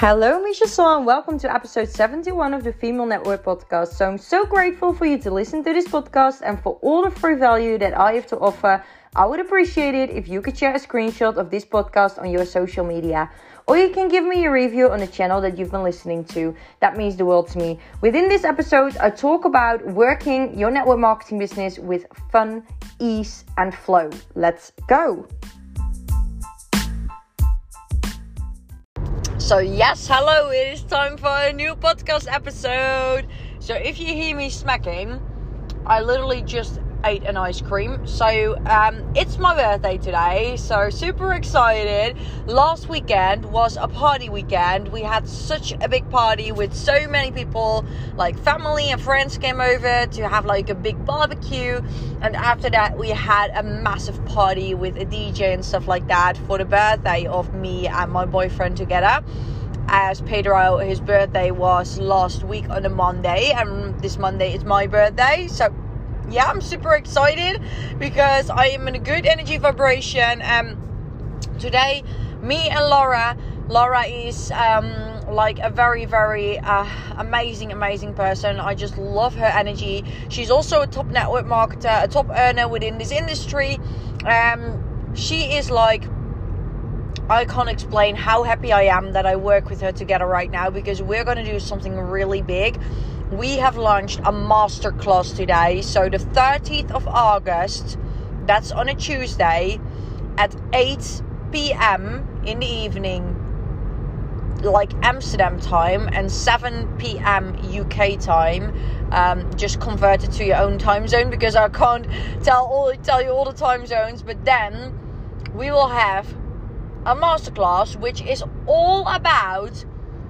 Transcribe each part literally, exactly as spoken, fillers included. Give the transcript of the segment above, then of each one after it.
Hello, Misha Saw, and welcome to episode seventy-one of the Female Network podcast. So I'm so grateful for you to listen to this podcast and for all the free value that I have to offer. I would appreciate it if you could share a screenshot of this podcast on your social media. Or you can give me a review on the channel that you've been listening to. That means the world to me. Within this episode, I talk about working your network marketing business with fun, ease, and flow. Let's go. So yes, hello, it is time for a new podcast episode. So if you hear me smacking, I literally just ate an ice cream. So um, it's my birthday today, so super excited. Last weekend was a party weekend. We had such a big party with so many people, like family and friends came over to have like a big barbecue. And after that we had a massive party with a D J and stuff like that for the birthday of me and my boyfriend together. As Pedro, his birthday was last week on a Monday, and this Monday is my birthday. So yeah, I'm super excited because I am in a good energy vibration. Um, today, me and Laura, Laura is um, like a very, very uh, amazing, amazing person. I just love her energy. She's also a top network marketer, a top earner within this industry. Um, she is like, I can't explain how happy I am that I work with her together right now, because we're going to do something really big. We have launched a masterclass today. So the thirtieth of August, that's on a Tuesday at eight p.m. in the evening, like Amsterdam time, and seven p.m. U K time. Um, just convert it to your own time zone because I can't tell all tell you all the time zones. But then we will have a masterclass which is all about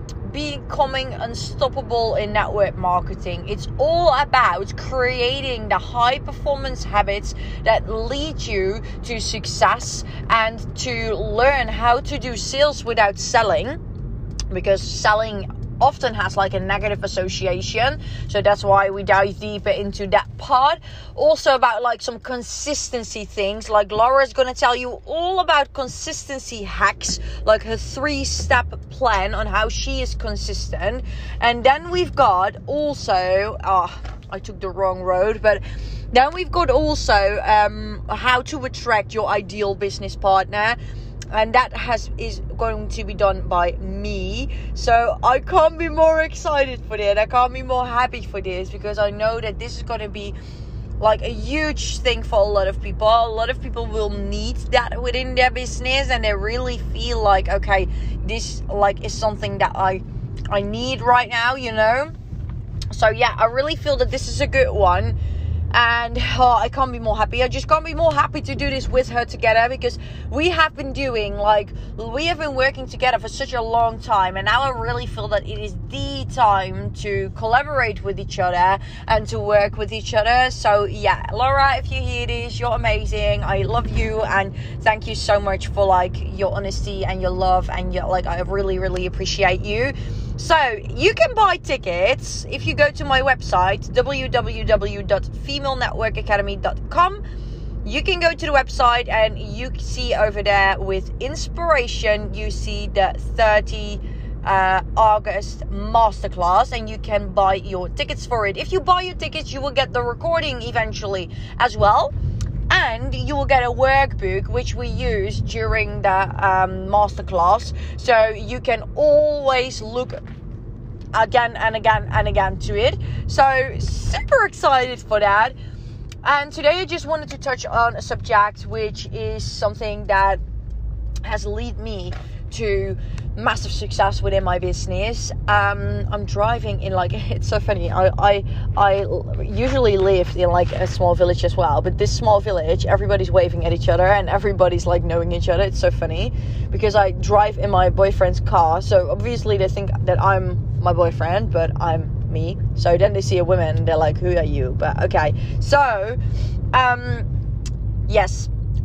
becoming unstoppable in network marketing. It's all about creating the high performance habits that lead you to success and to learn how to do sales without selling, because selling often has like a negative association. So that's why we dive deeper into that part. Also about like some consistency things, like Laura's gonna tell you all about consistency hacks, like her three-step plan on how she is consistent. And then we've got also oh I took the wrong road, but then we've got also um how to attract your ideal business partner. And that has is going to be done by me. So I can't be more excited for that. I can't be more happy for this, because I know that this is going to be like a huge thing for a lot of people. A lot of people will need that within their business, and they really feel like, okay, this like is something that I I need right now, you know. So yeah, I really feel that this is a good one. And oh, I can't be more happy. I just can't be more happy to do this with her together, because we have been doing like, we have been working together for such a long time. And now I really feel that it is the time to collaborate with each other and to work with each other. So yeah, Laura, if you hear this, you're amazing. I love you. And thank you so much for like your honesty and your love. And your, like, I really, really appreciate you. So you can buy tickets if you go to my website, w w w dot female network academy dot com. You can go to the website and you see over there with inspiration, you see the thirtieth of August masterclass, and you can buy your tickets for it. If you buy your tickets, you will get the recording eventually as well. And you will get a workbook which we use during the um, masterclass. So you can always look again and again and again to it. So super excited for that. And today I just wanted to touch on a subject which is something that has led me to massive success within my business. Um, I'm driving in like, it's so funny. I, I I usually lived in like a small village as well, but this small village, everybody's waving at each other and everybody's like knowing each other. It's so funny because I drive in my boyfriend's car, so obviously they think that I'm my boyfriend, but I'm me. So then they see a woman and they're like, who are you? But okay, so um yes.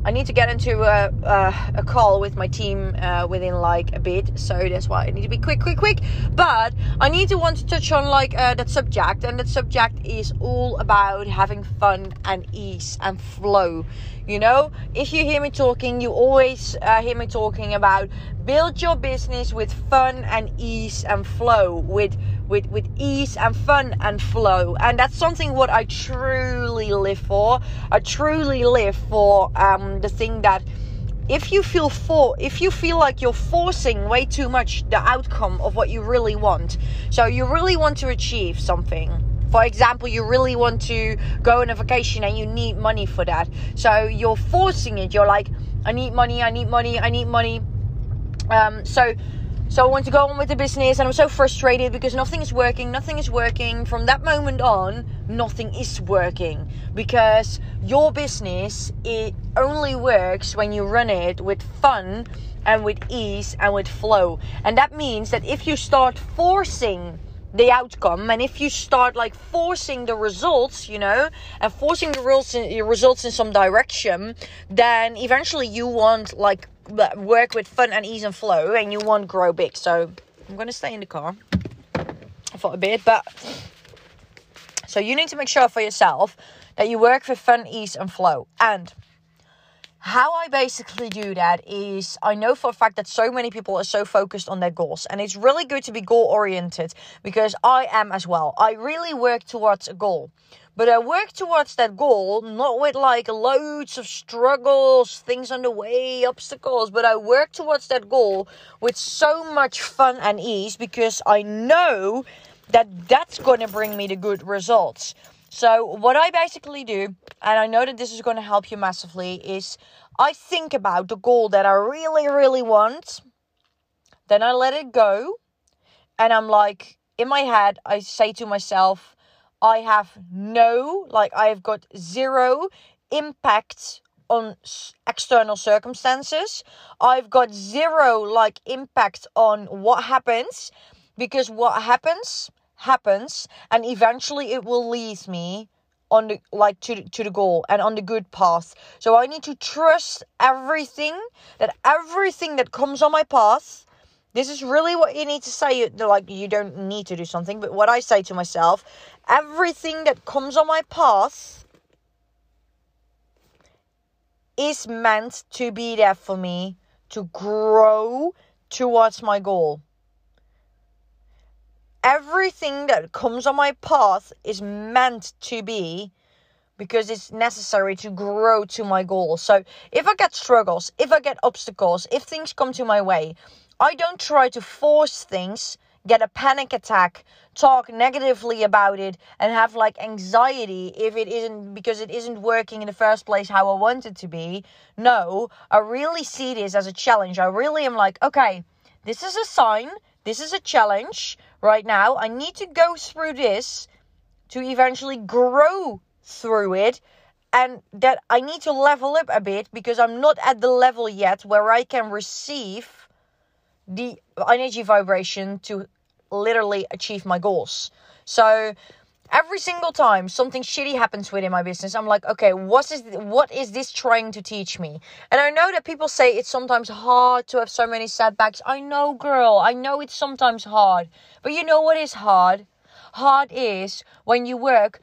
I need to get into a, a, a call with my team uh, within like a bit, so that's why I need to be quick, quick, quick. But I need to want to touch on like uh, that subject, and that subject is all about having fun and ease and flow. You know, if you hear me talking, you always uh, hear me talking about build your business with fun and ease and flow, with with with ease and fun and flow. And that's something what I truly live for. I truly live for um, the thing that if you feel for if you feel like you're forcing way too much the outcome of what you really want, so you really want to achieve something. For example, you really want to go on a vacation and you need money for that. So you're forcing it. You're like, I need money, I need money, I need money. Um, so, so I want to go on with the business, and I'm so frustrated because nothing is working, nothing is working. From that moment on, nothing is working, because your business, it only works when you run it with fun and with ease and with flow. And that means that if you start forcing the outcome, and if you start like forcing the results, you know, and forcing the results in, results in some direction, then eventually you won't like work with fun and ease and flow, and you won't grow big. So I'm going to stay in the car for a bit, but so you need to make sure for yourself that you work with fun, ease and flow. And how I basically do that is, I know for a fact that so many people are so focused on their goals, and it's really good to be goal oriented, because I am as well. I really work towards a goal, but I work towards that goal not with like loads of struggles, things on the way, obstacles, but I work towards that goal with so much fun and ease, because I know that that's going to bring me the good results. So what I basically do, and I know that this is going to help you massively, is I think about the goal that I really, really want. Then I let it go. And I'm like, in my head, I say to myself, I have no, like I have got zero impact on external circumstances. I've got zero like impact on what happens, because what happens happens, and eventually it will lead me on the like to to the goal and on the good path. So I need to trust everything that everything that comes on my path. This is really what you need to say. Like, you don't need to do something, but what I say to myself, everything that comes on my path is meant to be there for me to grow towards my goal. Everything that comes on my path is meant to be, because it's necessary to grow to my goal. So if I get struggles, if I get obstacles, if things come to my way, I don't try to force things, get a panic attack, talk negatively about it, and have like anxiety if it isn't, because it isn't working in the first place how I want it to be. No, I really see this as a challenge. I really am like, okay, this is a sign. This is a challenge right now. I need to go through this to eventually grow through it. And that I need to level up a bit, because I'm not at the level yet where I can receive the energy vibration to literally achieve my goals. So every single time something shitty happens within my business, I'm like, okay, what is what is this trying to teach me? And I know that people say it's sometimes hard to have so many setbacks. I know, girl, I know it's sometimes hard. But you know what is hard? Hard is when you work...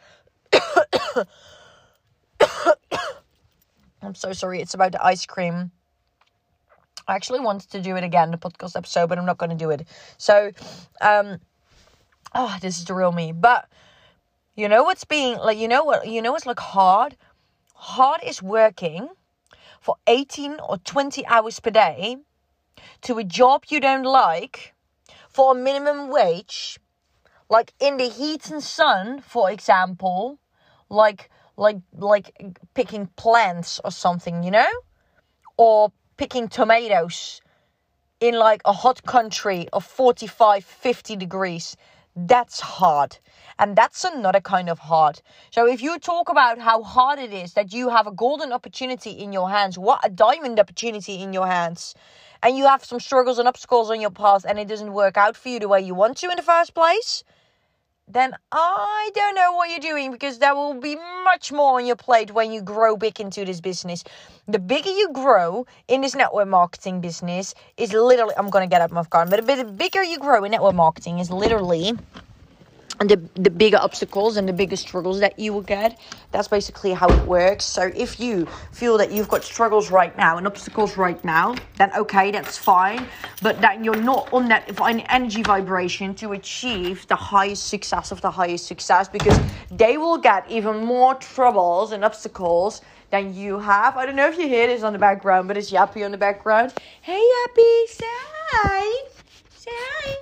I'm so sorry, it's about the ice cream. I actually wanted to do it again, the podcast episode, but I'm not going to do it. So, um, oh, this is the real me. But you know what's being like, you know what, you know what's like hard? Hard is working for eighteen or twenty hours per day to a job you don't like for a minimum wage, like in the heat and sun, for example, like like like picking plants or something, you know, or picking tomatoes in like a hot country of forty-five, fifty degrees. That's hard. And that's another kind of hard. So if you talk about how hard it is that you have a golden opportunity in your hands, what a diamond opportunity in your hands, and you have some struggles and obstacles on your path and it doesn't work out for you the way you want to in the first place, then I don't know what you're doing, because there will be much more on your plate when you grow big into this business. The bigger you grow in this network marketing business is literally, I'm going to get up my car, but the bigger you grow in network marketing is literally and the, the bigger obstacles and the bigger struggles that you will get. That's basically how it works. So if you feel that you've got struggles right now and obstacles right now, then okay, that's fine. But that you're not on that energy vibration to achieve the highest success of the highest success, because they will get even more troubles and obstacles than you have. I don't know if you hear this on the background, but it's Yappy on the background. Hey Yappy, say hi. Say hi.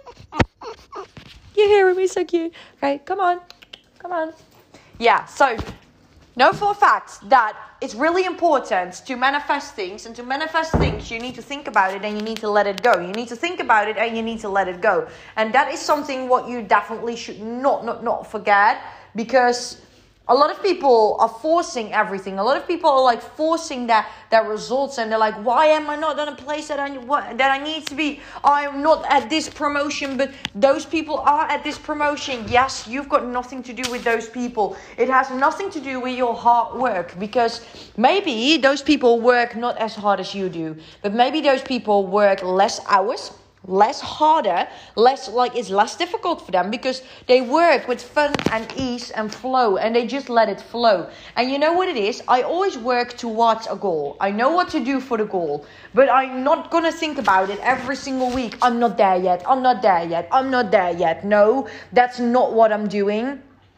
You're hearing me, so cute. Okay, come on. Come on. Yeah, so know for a fact that it's really important to manifest things. And to manifest things, you need to think about it and you need to let it go. You need to think about it and you need to let it go. And that is something what you definitely should not, not, not forget. Because a lot of people are forcing everything. A lot of people are like forcing their, their results, and they're like, why am I not in a place that I what, that I need to be? I'm not at this promotion, but those people are at this promotion. Yes, you've got nothing to do with those people. It has nothing to do with your hard work, because maybe those people work not as hard as you do, but maybe those people work less hours, less harder, less like it's less difficult for them, because they work with fun and ease and flow, and they just let it flow. And you know what it is? I always work towards a goal. I know what to do for the goal, but I'm not gonna think about it every single week. I'm not there yet. I'm not there yet. I'm not there yet. No, that's not what I'm doing.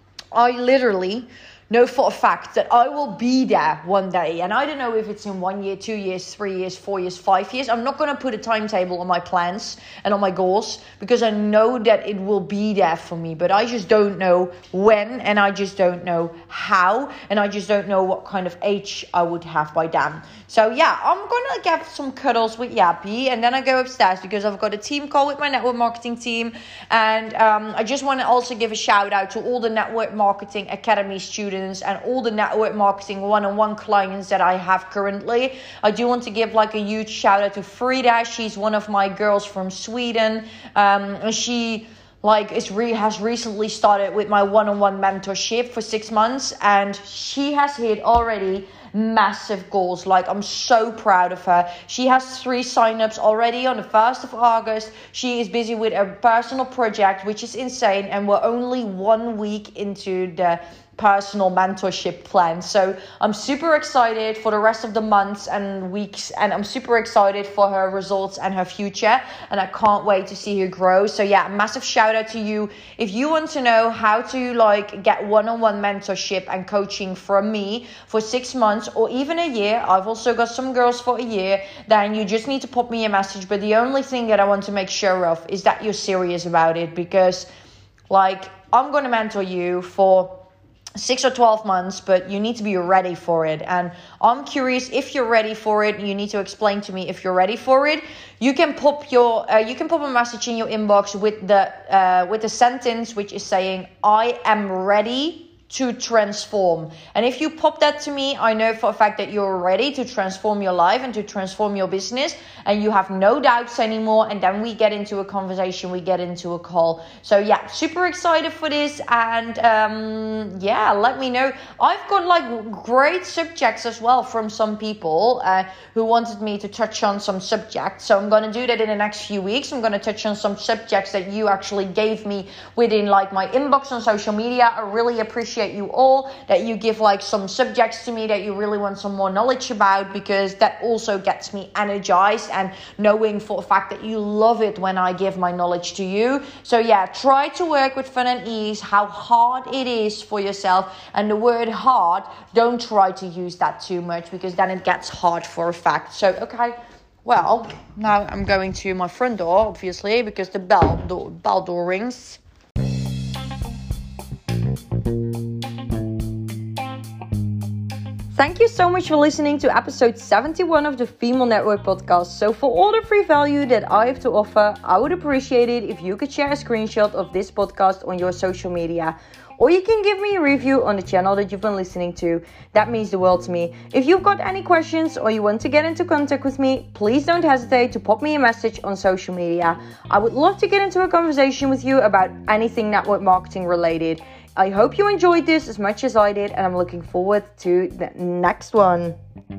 I literally know for a fact that I will be there one day. And I don't know if it's in one year, two years, three years, four years, five years. I'm not going to put a timetable on my plans and on my goals, because I know that it will be there for me. But I just don't know when, and I just don't know how, and I just don't know what kind of age I would have by then. So yeah, I'm going to get some cuddles with Yappy, and then I go upstairs because I've got a team call with my network marketing team. And um, I just want to also give a shout out to all the Network Marketing Academy students and all the network marketing one-on-one clients that I have currently. I do want to give like a huge shout out to Frida. She's one of my girls from Sweden. Um, and she like is re- has recently started with my one-on-one mentorship for six months. And she has hit already massive goals. Like, I'm so proud of her. She has three signups already on the first of August. She is busy with a personal project, which is insane. And we're only one week into the personal mentorship plan. So I'm super excited for the rest of the months and weeks, and I'm super excited for her results and her future, and I can't wait to see her grow. So yeah, massive shout out to you. If you want to know how to like get one-on-one mentorship and coaching from me for six months or even a year, I've also got some girls for a year, then you just need to pop me a message. But the only thing that I want to make sure of is that you're serious about it, because like I'm going to mentor you for six or twelve months, but you need to be ready for it. And I'm curious if you're ready for it. You need to explain to me if you're ready for it. You can pop your, uh, you can pop a message in your inbox with the, uh, with the sentence which is saying, I am ready to transform. And if you pop that to me, I know for a fact that you're ready to transform your life and to transform your business, and you have no doubts anymore. And then we get into a conversation, we get into a call. So yeah, super excited for this. And um, yeah, let me know. I've got like great subjects as well from some people uh, who wanted me to touch on some subjects. So I'm going to do that in the next few weeks. I'm going to touch on some subjects that you actually gave me within like my inbox on social media. I really appreciate you all that you give like some subjects to me that you really want some more knowledge about, because that also gets me energized, and knowing for a fact that you love it when I give my knowledge to you. So yeah, try to work with fun and ease, how hard it is for yourself. And the word hard, don't try to use that too much, because then it gets hard for a fact. So okay, well, now I'm going to my front door, obviously, because the bell door, bell door rings. thank you so much for listening to episode seventy-one of the Female Network podcast. So for all the free value that I have to offer, I would appreciate it if you could share a screenshot of this podcast on your social media. Or you can give me a review on the channel that you've been listening to. That means the world to me. If you've got any questions or you want to get into contact with me, please don't hesitate to pop me a message on social media. I would love to get into a conversation with you about anything network marketing related. I hope you enjoyed this as much as I did, and I'm looking forward to the next one.